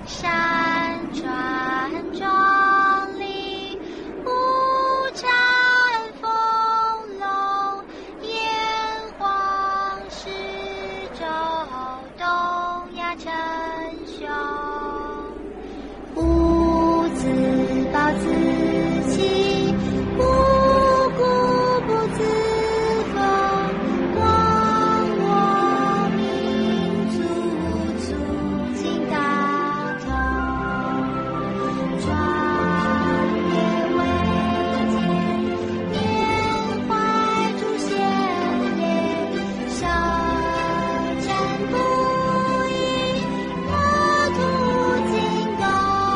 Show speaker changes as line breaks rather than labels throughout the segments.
山川壮丽，五展丰隆，炎黄始周，东亚称雄。吾自暴自弃，无故不自封。光我民族，促进大同。壮烈伟健，缅怀祖先烈，小战不已，国土进攻。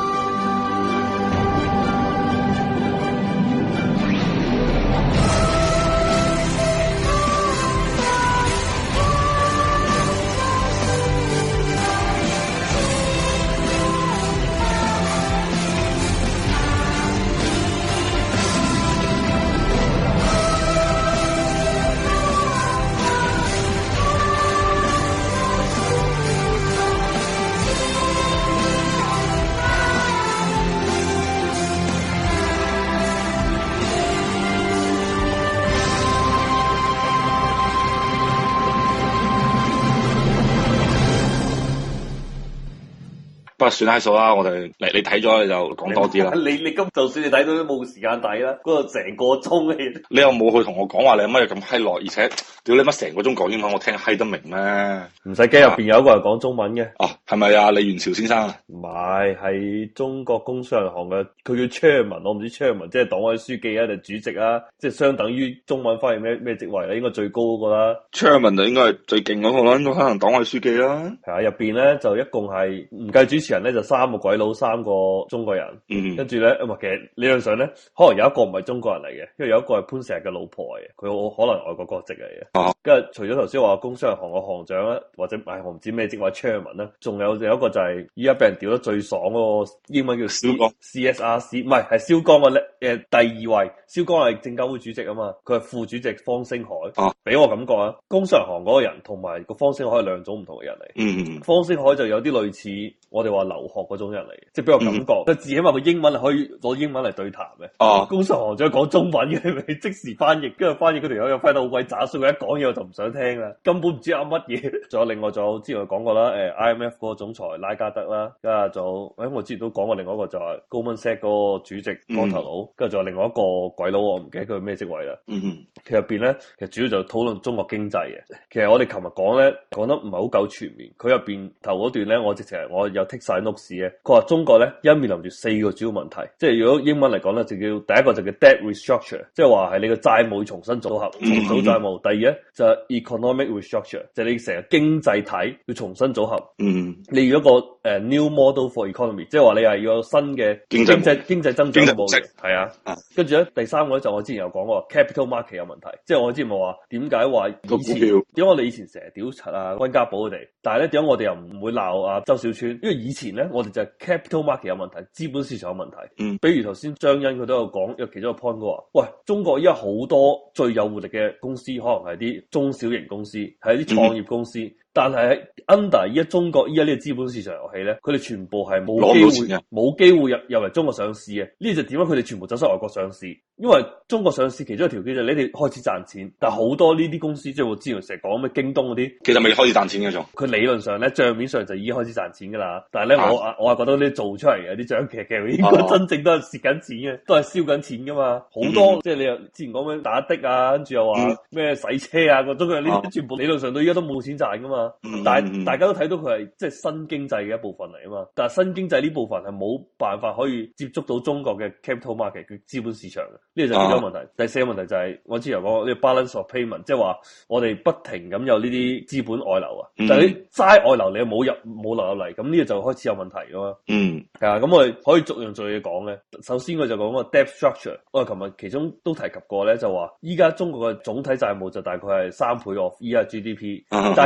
不過算係數啦，我哋嚟你睇咗你就講多啲啦。
你今就算你睇到都冇時間睇啦，嗰個成個鐘嘅。
你又冇去同我講話你乜嘢咁閪耐，而且屌你乜成個鐘講英文，我聽閪得明咩？
唔使驚，入邊有一個係講中文嘅。
哦，係咪啊？李元朝先生啊？
唔係，係中國工商銀行嘅，佢叫 Chairman， 我唔知 Chairman 即係黨委書記啊定主席啊，即係相等於中文翻譯咩職位咧？應該最高嗰個啦。
Chairman 就應該係最勁嗰個啦，應該可能黨委書記啦。
係啊，入邊咧就一共係唔計主持人咧就3個鬼佬，3個中國人。跟住咧，其實理論上咧，可能有一個唔係中國人嚟嘅，因為有一個係潘石屹嘅老婆嚟嘅，佢可能外國國籍嚟嘅。跟住除咗頭先話工商銀行嘅行長咧，或者我唔知咩職位 Chairman 咧，仲有一個就係依家俾人屌得最爽嗰個英文叫蕭江 CSRC， 唔係蕭江嘅第二位，蕭江係證監會主席啊嘛，佢係副主席方星海。俾我感覺啊，工商銀行嗰個人同埋個方星海係兩種唔同嘅人嚟。方星海就有啲類似我哋話留學嗰種人嚟嘅，即係俾我感覺，佢自己話佢英文係可以攞英文嚟對談嘅。工商行長講中文嘅，咪即時翻譯，跟住翻譯嗰條友又翻到好鬼渣，所以佢一講嘢我就唔想聽啦，根本唔知噏乜嘢。仲有另外之前我講過啦，IMF 嗰個總裁拉加德啦，跟住我之前都講過另外一個就係 Goldman Sachs 嗰個主席光頭佬，跟住仲有另外一個鬼佬，我唔記得佢咩職位啦。其實入邊咧，其實主要就討論中國經濟嘅。其實我哋琴日講咧，講得唔係好夠全面。佢入邊頭嗰段咧，我直情我有剔晒 notes 嘅。佢話中國咧一面臨住4個主要問題，即係如果英文嚟講咧，就叫第一個就叫 debt restructure， 即係話係你個債務要重新組合，重組債務。第二咧就係 economic restructure， 就係你成個經濟體要重新組合。你要一個new model for economy， 即係話你係要有新嘅經濟增長模式。係啊，跟住咧第三個咧就我之前有講過 capital market 有問題，即係我之前冇話點解話以前點解我哋以前成日屌柒啊溫家寶佢哋，但係咧點解我哋又唔會鬧啊周小川？因為以前咧我哋就係 capital market 有問題，資本市場有問題。比如頭先張欣佢都有講，有其中一個 point 嘅話，喂，中國依家好多最有活力嘅公司，可能係啲中小型公司，係啲創業公司。但係 under 依家中國依家呢個資本市場遊戲咧，佢哋全部係冇機會入嚟中國上市嘅。呢就點解佢哋全部走晒外國上市？因為中國上市其中一條件就係你哋開始賺錢，但係好多呢啲公司即係我之前成日講咩京東嗰啲，
其實未開始賺錢嘅仲。佢
理論上咧賬面上就已經開始賺錢噶啦，但係咧我係覺得呢做出嚟嘅啲賬其實應該真正都係蝕緊錢嘅，都係燒緊錢噶嘛。好多即係你又之前講咩打的啊，跟住又話咩洗車啊，嗰種嘅呢啲全部理論上到依家都冇錢賺噶嘛。但係大家都睇到佢係即係新經濟嘅一部分嚟啊嘛，但係新經濟呢部分係冇辦法可以接觸到中國嘅 capital market 嘅資本市場嘅，呢個就係其中一個問題。第四個問題就係我之前講呢個 balance of payment， 即係話我哋不停咁有呢啲資本外流啊，但係你齋外流你又冇流入嚟，咁呢個就開始有問題噶嘛。係啊，咁我哋可以逐樣嘢講嘅。首先我就講個 debt structure， 我哋琴日其中都提及過咧，就話依家中國嘅總體債務就大概係3倍of依家 GDP， 但係其實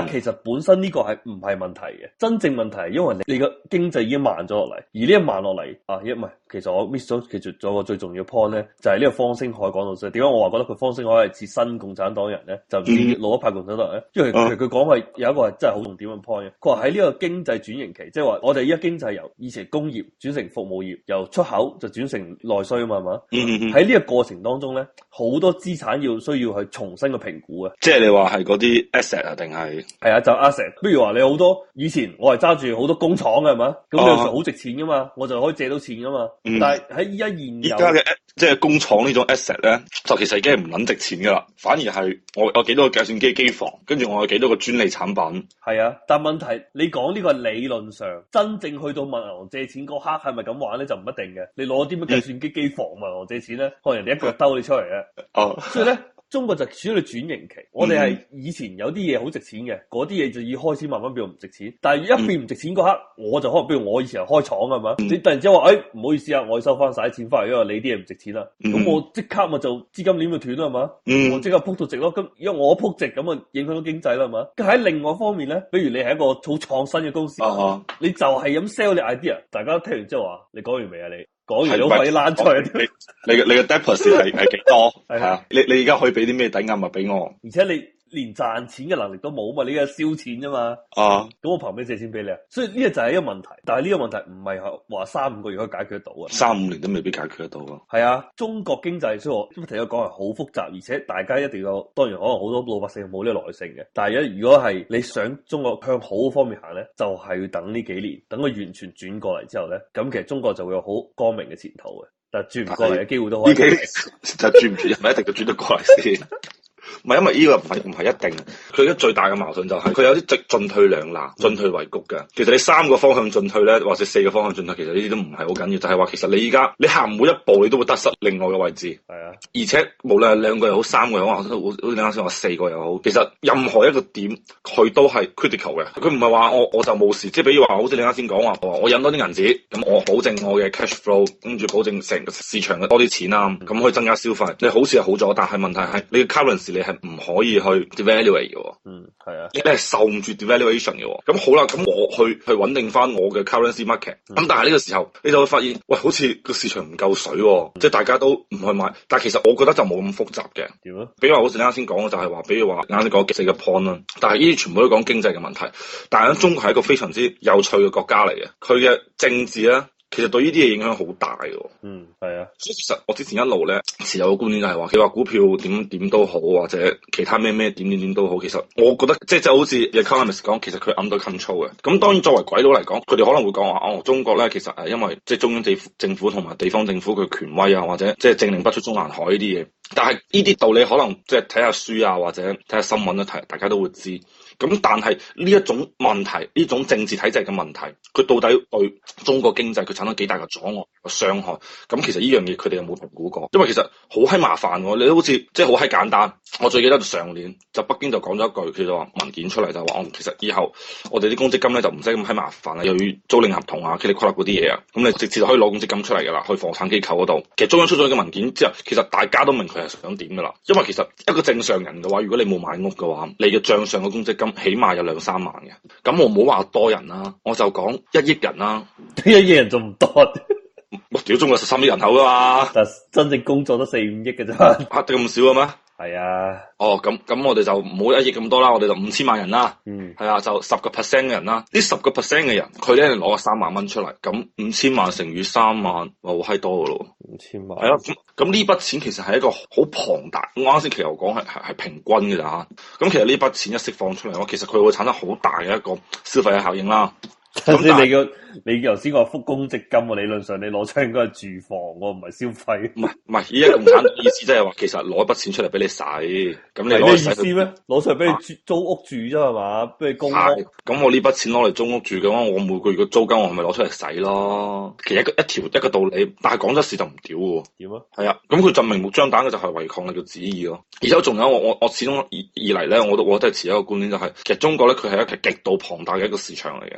本身呢個係唔係問題嘅，真正問題係因為你個經濟已經慢咗落嚟，而呢一慢落嚟啊，唔係，其實我 miss 咗其實仲有個最重要 point 咧，就係呢個方星海講到先。點解我話覺得佢方星海係似新共產黨人咧？就唔似老一派共產黨人咧？因為其實佢講係有一個係真係好重點嘅 point 嘅。佢話喺呢個經濟轉型期，即係話我哋依家經濟由以前工業轉成服務業，由出口就轉成內需啊嘛，係嘛？喺呢個過程當中咧，好多資產需要去重新嘅評估啊。
即係你話係嗰啲 asset 啊，定係
係啊，就 asset。比如話你好多以前我係揸住好多工廠嘅係嘛，咁你好值錢噶嘛，我就可以借到錢噶嘛。但係喺依家
嘅即係工廠呢種 asset 咧，就其實已經係唔撚值錢噶啦，反而係我有幾多個計算機機房，跟住我有幾多個專利產品。
係啊，但問題你講呢個理論上，真正去到問銀行借錢嗰刻係咪咁玩咧，就唔一定嘅。你攞啲乜計算機機房問銀行借錢咧，可能人哋一腳兜你出嚟嘅。所以咧。中國就處於轉型期，我哋係以前有啲嘢好值錢嘅，嗰啲嘢就要開始慢慢變唔值錢。但係一變唔值錢嗰刻，我就可能比如我以前開廠係嘛，你突然之間話，唔好意思啊，我要收翻晒啲錢翻嚟，因為你啲嘢唔值錢啦。咁我即刻咪就資金鏈咪斷啦係嘛，我即刻撲到值咯。咁因為我撲值咁啊，影響到經濟啦係嘛。咁喺另外一方面咧，比如你係一個好創新嘅公司，你就係咁 sell 你 idea， 大家聽完之後話，你講完未啊你？講完都快啲躝出嚟，
你嘅 deposit 係幾多？係啊，你而家可以俾啲咩抵押物俾我？
而且你連賺錢嘅能力都冇嘛，你而家燒錢啫嘛。咁我憑咩借錢俾你啊？所以呢個就係一個問題，但係呢個問題唔係話3-5個月可以解決得到啊
，3-5年都未必解決得到啊。
係啊，中國經濟所以我今日提咗講係好複雜，而且大家一定要，當然可能好多老百姓冇呢個耐性嘅，但係如果係你想中國向好方面行咧，就係要等呢幾年，等佢完全轉過嚟之後咧，咁其實中國就會有好光明嘅前途嘅。但係轉唔過嚟嘅機會都可以，
就轉唔轉，係咪一定就轉得過嚟先？唔係，因為呢個唔係一定。佢而家最大嘅矛盾就係佢有啲進退兩難、進退維谷嘅。其實你3個方向進退咧，或者4個方向進退，其實呢啲都唔係好緊要。就係話其實你而家你行每一步，你都會得失另外嘅位置。係啊，而且無論係2個又好、3個又好，好似你啱先話4個又好，其實任何一個點佢都係 critical 嘅。佢唔係話我就冇事，即係比如話好似你啱先講話，我印多啲銀紙，咁我保證我嘅 cash flow， 跟住保證成個市場嘅多啲錢啊，咁可以增加消費。你好似係好咗，但係問題係你嘅 currency 你係唔可以去 devaluate 嘅。
係啊，
你係受唔住 devaluation 嘅。咁好啦，咁我去穩定翻我嘅 currency market。咁但係呢個時候你就會發現，喂，好似個市場唔夠水，即係大家都唔去買。但係其實我覺得就冇咁複雜嘅。點啊？比如話好似你啱先講嘅就係話，比如話啱先講4個 point 啦。但係呢啲全部都講經濟嘅問題。但係中國係一個非常之有趣嘅國家嚟嘅，佢嘅政治咧，其實對呢啲嘢影響好大嘅。係啊。所以其實我之前一路咧持有個觀點就係話，佢話股票點都好，或者其他咩點都好，其實我覺得即係好似 economist 講，其實佢 under control 嘅。咁當然作為鬼佬嚟講，佢哋可能會講話中國咧其實係因為即係中央政府同埋地方政府佢權威啊，或者即係政令不出中南海呢啲嘢。但係呢啲道理可能即係睇下書啊，或者睇下新聞咧，大家都會知。咁但係呢一種問題，呢種政治體制嘅問題，佢到底對中國經濟佢產生幾大嘅阻礙、傷害？咁其實呢樣嘢佢哋有冇評估過？因為其實好閪麻煩喎，你都好似即係好閪簡單。我最記得上年就北京就講咗一句，佢就話文件出嚟就話，其實以後我哋啲公積金咧就唔使咁閪麻煩啦，又要租賃合同啊、噼里啪啦嗰啲嘢啊，咁你直接就可以攞公積金出嚟噶啦，去房產機構嗰度。其實中央出咗個文件之後，其實大家都明佢係想點噶啦，因為其實一個正常人嘅話，如果你冇買屋嘅話，你嘅帳上嘅公積金起碼有2-3萬嘅。咁我唔好話多人啦，我就講1億人啦，1
億人仲唔多？
我屌中國13億人口噶嘛，但
真正工作都4-5億嘅啫，
得咁少嘅咩？係
啊。
咁我哋就唔好1億咁多啦，我哋就5000萬人啦。係啊，就10%嘅人啦。呢10%嘅人，佢咧攞3萬蚊出嚟，咁5000萬乘以3萬，哇，好閪多噶咯。5000萬。係啊，咁呢筆錢其實係一個好龐大。我啱先其實我講係平均嘅咋。咁其實呢筆錢一釋放出嚟嘅話，其實佢會產生好大嘅一個消費嘅效應啦。
咁你頭先話復公積金喎，理論上你攞出應該係住房喎，唔係消費。唔係，依家共產黨意思即係話，其實攞一筆錢出嚟俾你使，咁你攞嚟使咩意思咩？攞出嚟俾你租屋住啫係嘛？俾你供屋。咁我呢筆錢攞嚟租屋住嘅話，我每個月嘅租金我係咪攞出嚟使咯？其實一個道理，但係講咗事就唔屌喎。點啊？係啊，咁佢就明目張膽嘅就係違抗你嘅旨意咯。而且仲有我始終以嚟咧，我都係持一個觀點就係，其實中國咧佢係一個極度龐大嘅一個市場嚟嘅，佢人口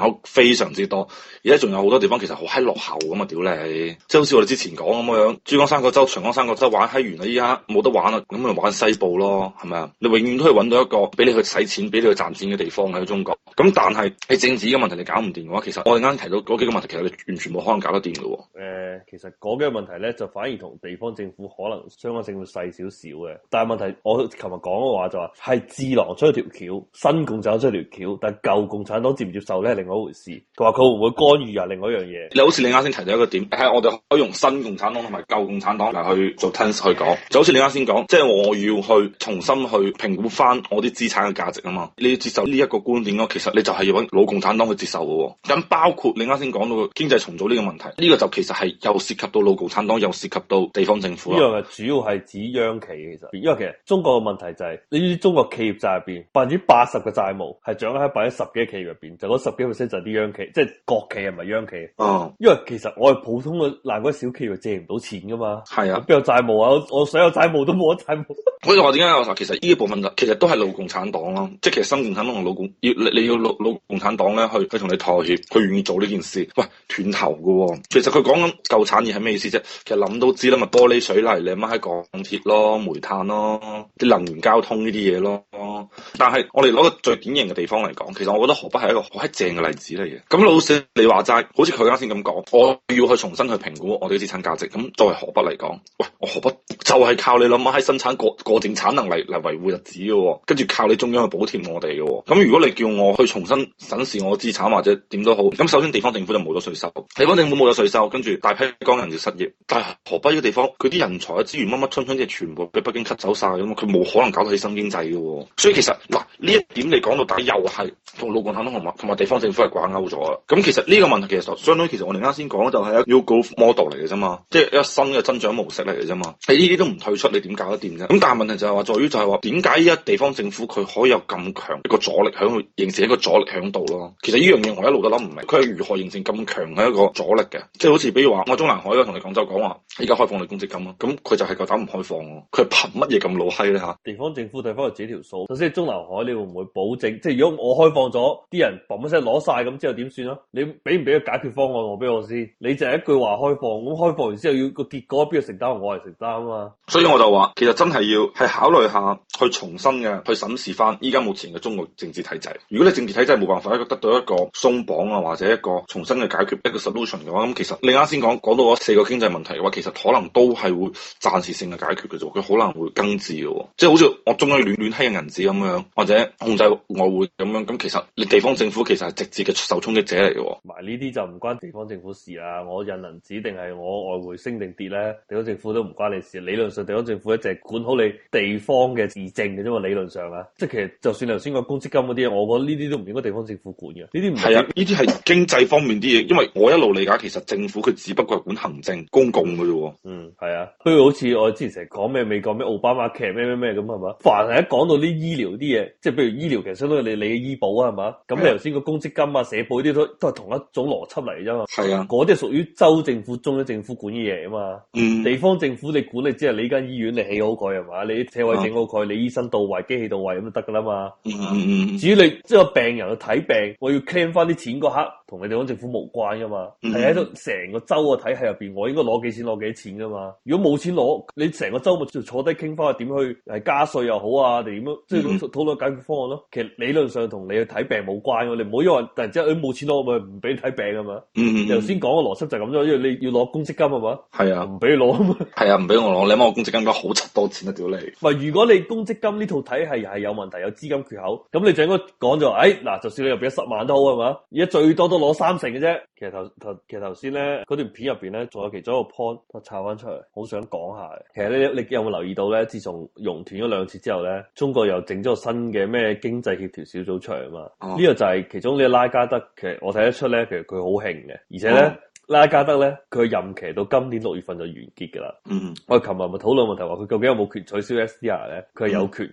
口非常之多，而且仲有好多地方其實好閪落後咁啊！屌你，即係好似我哋之前講咁樣，珠江三角洲、長江三角洲玩閪完啦，依家冇得玩啦，咁咪玩西部咯，係咪啊？你永遠都可以揾到一個俾你去使錢、俾你去賺錢嘅地方喺中國。咁但係你政治嘅問題你搞唔掂嘅話，其實我哋啱提到嗰幾個問題，其實你完全冇可能搞得掂嘅喎。
其實嗰幾個問題咧，就反而同地方政府可能相關性會細少少嘅。但係問題，我琴日講嘅話就話係智囊出咗條橋，新共產黨出咗條橋，但係舊共產黨接唔接受咧，係另外一回事。佢話佢會唔會干預啊？另外一樣嘢。
你好似你啱先提到一個點，係我哋可以用新共產黨同埋舊共產黨嚟去做 tense 去講。就好似你啱先講，即係我要去重新去評估翻我啲資產嘅價值啊嘛。你要接受呢一個觀點咯，其實你就係要揾老共產黨去接受嘅喎。咁包括你啱先講到經濟重組呢個問題，呢個就其實係又涉及到老共產黨，又涉及到地方政府。
呢樣係主要係指央企其實，因為其實中國嘅問題就係呢啲中國企業債入邊80%嘅債務係掌握喺10%嘅企業入邊，就嗰10幾%就係啲央企，即係國企係咪央企？因為其實我係普通嘅爛鬼小企業借唔到錢噶嘛。係啊，邊有債務啊？我所有債務都冇得債務。
所以話點解我話其實呢一部分就其實都係老共產黨咯，即係其實新共產黨同老共你要老共產黨咧去同你妥協，佢願意做呢件事。喂，斷頭噶喎！其實佢講緊舊產業係咩意思啫？其實諗都知啦，咪玻璃水泥你乜喺鋼鐵咯、煤炭咯、啲能源交通呢啲嘢咯。但係我哋攞個最典型嘅地方嚟講，其實我覺得河北係一個好閪正嘅例子嚟嘅。咁老實你話齋，好似佢啱先咁講，我要去重新去評估我哋嘅資產價值。咁作為河北嚟講，喂，我河北就係靠你諗下喺生產過剩產能嚟維護日子嘅，跟住靠你中央去補貼我哋嘅。咁如果你叫我去重新審視我嘅資產或者點都好，咁首先地方政府就冇咗稅收，地方政府冇咗稅收，跟住大批工人就失業。但係河北呢個地方，佢啲人才啊資源乜乜春春啲全部俾北京吸走晒咁嘛，佢冇可能搞到起新經濟嘅。所以其實嗱呢一點你講到底又係同老共產黨同埋地方政府係掛鈎咗啦。咁其實呢個問題其實相當於其實我哋啱先講就係一個 New Growth Model 嚟嘅啫嘛，即係一個新嘅增長模式嚟嘅啫嘛。你呢啲都唔退出，你點搞得掂啫？咁但係問題就係話在於就係話點解依家地方政府佢可以有咁強一個阻力喺度形成一個阻力喺度咯？其實呢樣嘢我一路都諗唔明，佢係如何形成咁強嘅一個阻力嘅？即係好似比如話我中南海同你廣州講話，依家開放你公積金啊，咁佢就係夠膽唔開放咯？佢係憑乜嘢咁老閪咧嚇？
地方政府睇翻佢自己條數，首先中南海你會唔會保證？即係如果我開放咗，啲人嘣一聲攞晒咁之後點算啊？你俾唔俾個解決方案我俾我先？你就係一句話開放，咁開放完之後要個結果邊個承擔？我係承擔啊嘛。所以
我就話，其實真係要係考慮下去重新嘅去審視翻依家目前嘅中國政治體制。如果你政治體制冇辦法得到一個鬆綁啊，或者一個重新嘅解決一個 solution 嘅話，咁其實你啱先講到嗰4個經濟問題嘅話，其實可能都係會暫時性嘅解決嘅啫，佢可能會根治嘅，即係好似我中央亂閪嘅銀紙咁樣，或者控制外匯咁樣，咁其實你地方政府其實係直接嘅受衝擊者嚟嘅。
埋呢啲就唔關地方政府事啦，我印銀紙定係我外匯升定跌咧，地方政府都唔關你事。理論上地方政府一直係管好你地方嘅市政嘅啫嘛，理論上啊，即係其實就算頭先講公積金嗰啲，我覺得呢啲都唔應該地方政府管嘅。呢啲唔係啊，
呢啲係經濟方面啲嘢，因為我一路理解其實政府佢只不過係管行政公共嘅啫。
係啊，不如好似我之前成日講咩美國咩奧巴馬劇咩咁係嘛？凡係一講到啲醫療啲嘢，即係譬如醫療其實相當於你嘅醫保啊係嘛？咁你頭先個公積金啊社保啲都係同一種邏輯嚟啫嘛。係啊，嗰啲係屬於州政府中央政府管嘅嘢啊嘛。地方政府你管你只係你間醫院你起好佢係嘛？你啲車位整好佢，你醫生到位機器到位咁就得噶啦嘛。至於你即係個病人去睇病，我要 claim 翻啲錢嗰刻，同你地方政府無關噶嘛。係喺度成個州嘅體系入邊，我應該攞幾錢攞幾錢噶嘛。如果冇錢攞，你成個州咪就坐低傾翻點去加稅又好啊，定點樣即係討論解決方案咯。其實理論上同你去睇病冇關嘅，你唔好因為突然之間冇錢攞咪唔俾你睇病啊嘛。你頭先講嘅邏輯就係咁啫，因為你要攞公積金係嘛。係啊，唔俾你攞啊嘛。係啊，唔俾我攞，你諗我公積金應該好柒多錢啊屌你！喂，如果你公積金呢套體系係有問題，有資金缺口，咁你就應該講就話，嗱，就算你入邊10萬都好係嘛，而家最多都攞30%嘅啫。其實頭先咧嗰段片入邊咧，仲有其中一個 point 我抄翻出嚟，好想講下。其實你有冇留意到咧？自從熔斷咗2次之後咧，中國又整咗個新嘅咩經濟協調小組出嚟啊嘛。呢個就係其中呢個拉加德，其實我睇得出咧，其實佢好興嘅，而且咧。拉加德咧，佢任期到今年6月份就完結噶啦。我哋琴日咪討論問題話，佢究竟有冇權取消 SDR 咧？佢係有權嘅。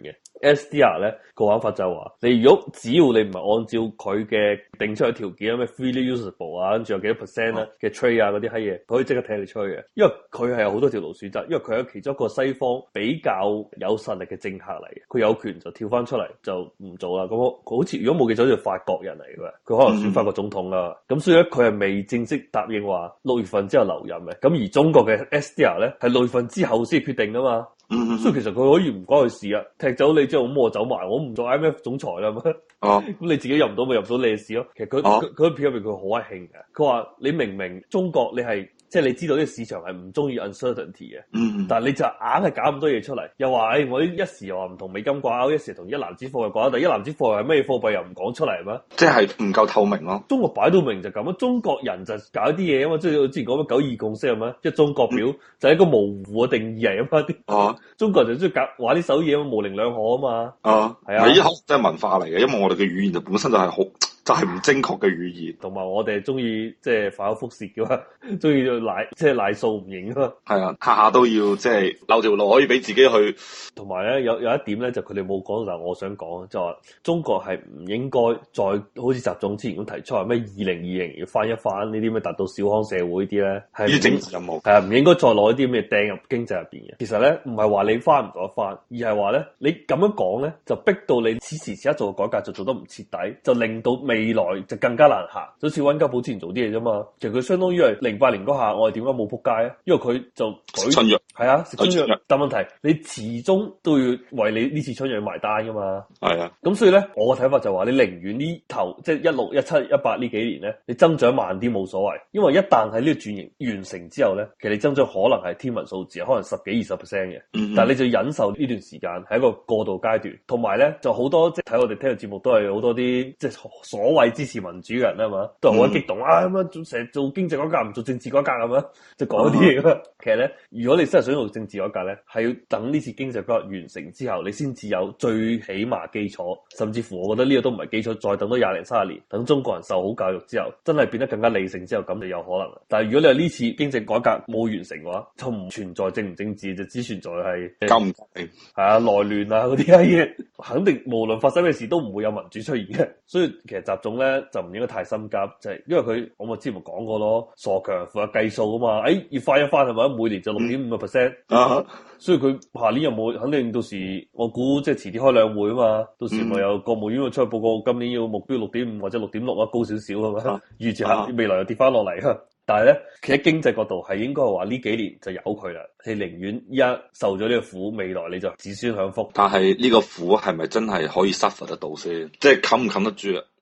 SDR 咧個玩法就係話，你如果只要你唔係按照佢嘅定出嘅條件，咩 freely usable 啊，跟住有幾多 percent 咧嘅 trade 啊嗰啲閪嘢，佢可以即刻踢你出去嘅。因為佢係有好多條路選擇，因為佢係其中一個西方比較有實力嘅政客嚟嘅，佢有權就跳翻出嚟就唔做啦。咁佢好似如果冇記錯，好似法國人嚟嘅，佢可能選法國總統啦。咁所以咧，佢係未正式答應話6月份之後留任嘅。咁而中國嘅 SDR 咧係6月份之後先決定噶嘛。所以其實佢可以唔關佢事啊，踢走你之後咁我走埋，我唔做 IMF 總裁啦。咁你自己入唔到咪入唔到你嘅事咯。其實佢片入邊佢好閪興嘅，佢話你明明中國你係。即係你知道呢個市場係唔中意 uncertainty 嘅，但係你就硬係搞咁多嘢出嚟，又話我一時又話唔同美金掛鈎，一時同一籃子貨又掛鈎，但係一籃子貨係咩貨幣又唔講出嚟係咩？即係
唔夠透明咯。
中國擺到明就咁啊，中國人就搞啲嘢啊嘛，即係我之前講嘅9·2共識係咩？即係中國表就係一個模糊嘅定義嚟啊嘛。中國人就中意搞玩呢手嘢啊嘛，模棱兩可啊嘛。係啊，
呢啲真係文化嚟嘅，因為我哋嘅語言就本身就係好。就係唔正確嘅語言，
同埋我哋中意即係反口覆舌嘅嘛，中意賴數唔認啊嘛。
係啊，下下都要即係留條路可以俾自己去。
同埋咧有一點咧就佢哋冇講，但係我想講就話中國係唔應該再好似習總之前咁提出話咩2020要翻一翻呢啲咩達到小康社會啲咧，係
呢啲政治任務。
係啊，唔應該再攞啲咩掟入經濟入邊嘅。其實咧唔係話你翻唔到一翻，而係話咧你咁樣講咧就逼到你此時此刻做嘅改革就做得唔徹底，就令到未來就更加難行，就好似溫家寶之前做啲嘢啫嘛。其實佢相當於係08年嗰下，我哋點解冇撲街啊？因為佢就
食春藥，
係啊，食春藥。但問題你始終都要為你呢次春藥埋單噶嘛。係啊，咁所以咧，我嘅睇法就話你寧願呢頭即係16、17、18呢幾年咧，你增長慢啲冇所謂，因為一旦喺呢個轉型完成之後咧，其實你增長可能係天文數字，可能10幾20%嘅。但係你就要忍受呢段時間係一個過渡階段，同埋咧就好多即係睇我哋聽嘅節目都係好多啲即係所謂支持民主嘅人啊嘛，都係好激動啊咁樣，成日做經濟改革唔做政治改革咁樣，就講啲嘢咁。其實咧，如果你真係想做政治改革咧，係要等呢次經濟改革完成之後，你先至有最起碼基礎，甚至乎我覺得呢個都唔係基礎，再等多20年30年，等中國人受好教育之後，真係變得更加理性之後，咁就有可能。但係如果你話呢次經濟改革冇完成嘅話，就唔存在政唔政治，就只存在係
夠唔夠定
係啊內亂啊嗰啲嘢，肯定無論發生咩事都唔會有民主出現嘅。所以其實習總咧就唔應該太心急，就係因為佢我咪之前講過咯，傻強負責計數啊嘛，要翻一翻係咪？每年就6.5%，所以佢下年有冇肯定到時我估即係遲啲開兩會啊嘛，到時咪有國務院會出去報告，今年要目標6.5或者6.6啊，高少少係咪？預期下未來又跌翻落嚟。但係咧，其實經濟角度係應該話呢幾年就由佢啦，你寧願一受咗呢個苦，未來你就子孫享福。
但係呢個苦係咪真係可以 suffer 得到先？即係冚唔冚得住啊？